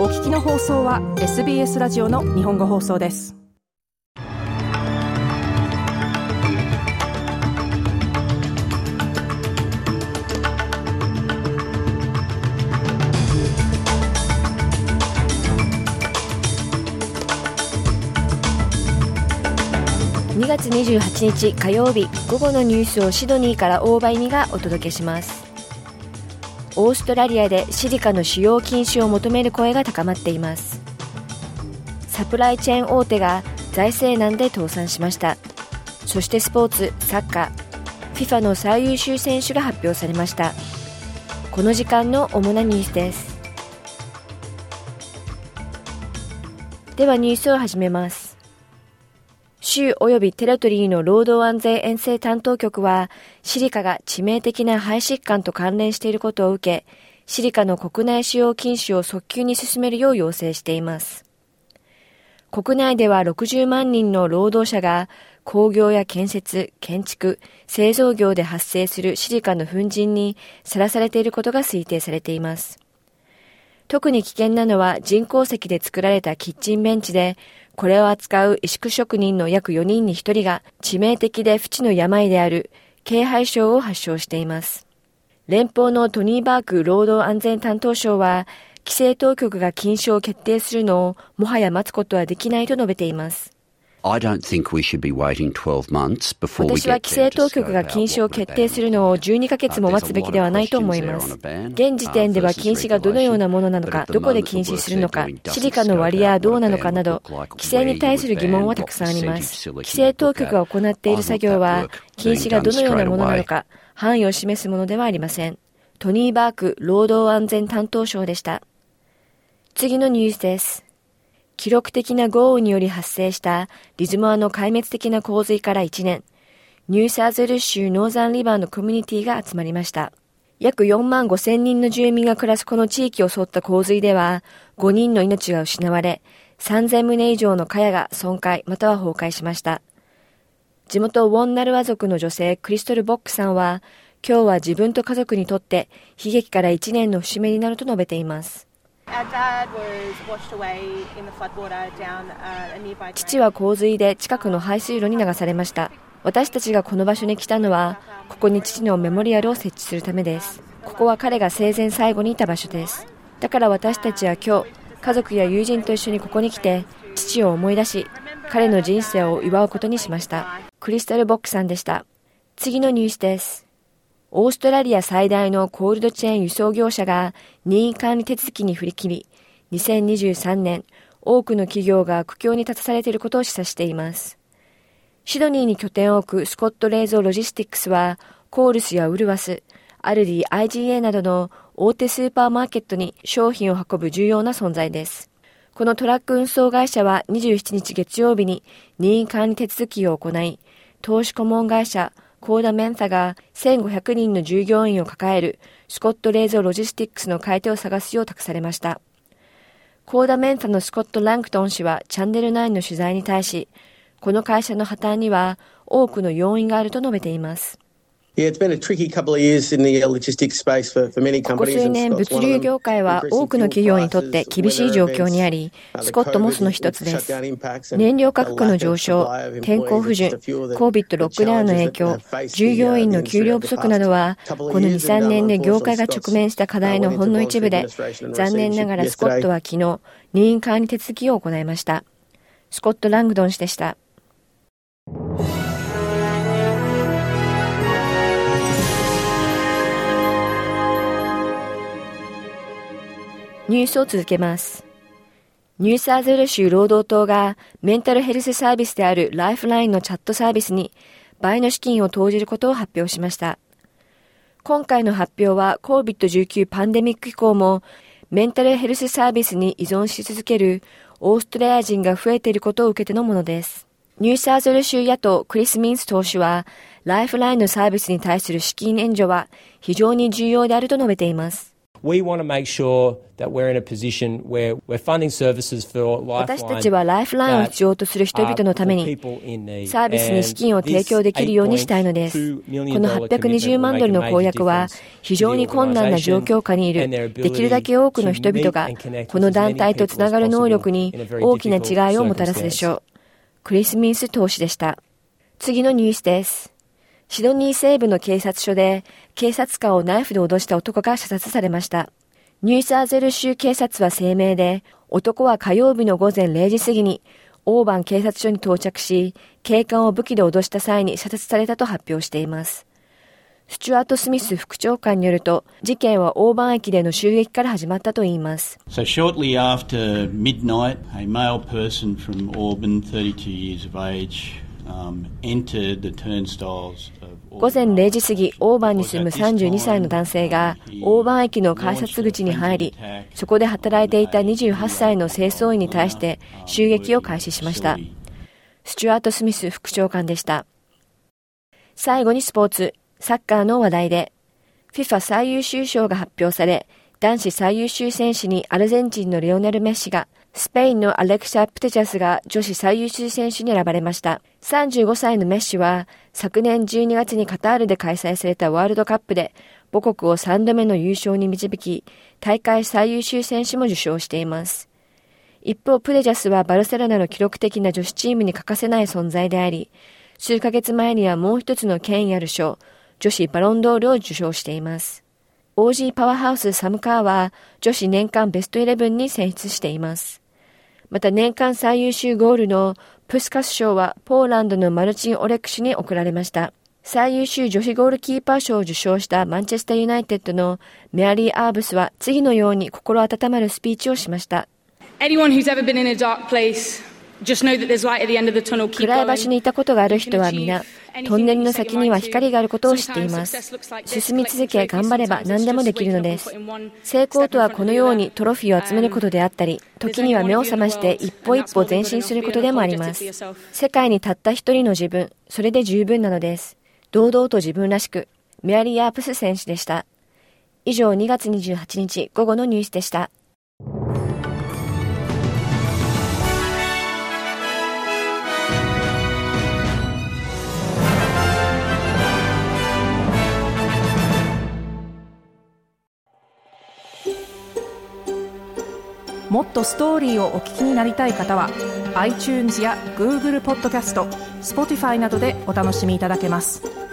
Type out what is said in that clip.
聞きの放送は SBS ラジオの日本語放送です。 2月28日火曜日、午後のニュースをシドニーから大場由美がお届けします。オーストラリアでシリカの使用禁止を求める声が高まっています。サプライチェーン大手が財政難で倒産しました。そしてスポーツ、サッカー、FIFA の最優秀選手が発表されました。この時間の主なニュースです。ではニュースを始めます。州及びテリトリーの労働安全衛生担当局は、シリカが致命的な肺疾患と関連していることを受け、シリカの国内使用禁止を早急に進めるよう要請しています。国内では60万人の労働者が工業や建設、建築、製造業で発生するシリカの粉塵にさらされていることが推定されています。特に危険なのは人工石で作られたキッチンベンチで、これを扱う石工職人の約4人に1人が致命的で不治の病である軽肺症を発症しています。連邦のトニー・バーク労働安全担当相は、規制当局が禁止を決定するのをもはや待つことはできないと述べています。 私は規制当局が禁止を決定するのを12ヶ月も待つべきではないと思います。現時点では禁止がどのようなものなのか、どこで禁止するのか、シリカの割合はどうなのかなど、規制に対する疑問はたくさんあります。規制当局が行っている作業は、禁止がどのようなものなのか、範囲を示すものではありません。トニー・バーク労働安全担当相でした。次のニュースです。記録的な豪雨により発生したリズモアの壊滅的な洪水から1年、ニューサーズウェルズ州ノーザンリバーのコミュニティが集まりました。約4万5千人の住民が暮らすこの地域を襲った洪水では、5人の命が失われ、3000棟以上の茅が損壊または崩壊しました。地元ウォンナルワ族の女性クリストル・ボックさんは、今日は自分と家族にとって悲劇から1年の節目になると述べています。父は洪水で近くの排水路に流されました。私たちがこの場所に来たのは、ここに父のメモリアルを設置するためです。ここは彼が生前最後にいた場所です。だから私たちは今日、家族や友人と一緒にここに来て、父を思い出し、彼の人生を祝うことにしました。クリスタル・ボックさんでした。次のニュースです。オーストラリア最大のコールドチェーン輸送業者が任意管理手続きに振り切り、2023年、多くの企業が苦境に立たされていることを示唆しています。シドニーに拠点を置くスコット・レーゾー・ロジスティックスは、コールスやウルワス、アルディ、IGA などの大手スーパーマーケットに商品を運ぶ重要な存在です。このトラック運送会社は27日月曜日に任意管理手続きを行い、投資顧問会社、コーダ・メンサが1500人の従業員を抱えるスコット・レーゾー・ロジスティックスの買い手を探すよう託されました。コーダ・メンサのスコット・ランクトン氏はチャンネル9の取材に対し、この会社の破綻には多くの要因があると述べています。ここ数年、物流業界は多くの企業にとって厳しい状況にあり、スコットもその一つです。燃料価格の上昇、天候不順、COVID ロックダウンの影響、従業員の給料不足などは、この2、3年で業界が直面した課題のほんの一部で、残念ながらスコットは昨日、任意管理手続きを行いました。スコット・ラングドン氏でした。ニュースを続けます。ニューサーズウェル州労働党がメンタルヘルスサービスであるライフラインのチャットサービスに倍の資金を投じることを発表しました。今回の発表は COVID-19 パンデミック以降もメンタルヘルスサービスに依存し続けるオーストラリア人が増えていることを受けてのものです。ニューサーズウェル州野党クリス・ミンス党首はライフラインのサービスに対する資金援助は非常に重要であると述べています。 We want to make sure that we're in a position where we're funding services for Lifeline. 私たちはライフラインを必要とする人々のためにサービスに資金を提供できるようにしたいのです。この820万ドルの公約は非常に困難な状況下にいるできるだけ多くの人々がこの団体とつながる能力に大きな違いをもたらすでしょう。クリス・ミンス党首でした。次のニュースです。シドニー西部の警察署で警察官をナイフで脅した男が射殺されました。ニューサーゼル州警察は声明で、男は火曜日の午前0時過ぎにオーバン警察署に到着し、警官を武器で脅した際に射殺されたと発表しています。スチュアート・スミス副長官によると、事件はオーバン駅での襲撃から始まったといいます。 So shortly after midnight, a male person from Auburn, 32 years of age,entered the turnstiles of 午前0時過ぎ、オーバンに住む32歳の男性がオーバン駅の改札口に入り、そこで働いていた28歳の清掃員に対して襲撃を開始しました。スチュアート・スミス副長官でした。最後にスポーツ、サッカーの話題で、FIFA 最優秀賞が発表され、男子最優秀選手にアルゼンチンのレオネル・メッシが、スペインのアレクサ・プテチャスが女子最優秀選手に選ばれました。35歳のメッシは、昨年12月にカタールで開催されたワールドカップで、母国を3度目の優勝に導き、大会最優秀選手も受賞しています。一方、プテチャスはバルセロナの記録的な女子チームに欠かせない存在であり、数ヶ月前にはもう一つの権威ある賞、女子バロンドールを受賞しています。OG パワーハウスサムカーは女子年間ベスト11に選出しています。また年間最優秀ゴールのプスカス賞はポーランドのマルチン・オレクシュに贈られました。最優秀女子ゴールキーパー賞を受賞したマンチェスターユナイテッドのメアリー・アーブスは次のように心温まるスピーチをしました。 Anyone who's ever been in a dark place.Just know that there's light at the end of the tunnel. 暗い場所にいたことがある人は皆、トンネルの先には光があることを知っています。進み続け、頑張れば何でもできるのです。成功とはこのようにトロフィーを集めることであったり、時には目を覚まして一歩一歩前進することでもあります。世界にたった一人の自分、それで十分なのです。堂々と自分らしく、メアリー・アープス選手でした。以上、2月28日午後のニュースでした。 もっとストーリーをお聞きになりたい方は iTunes や Google ポッドキャスト、Spotify などでお楽しみいただけます。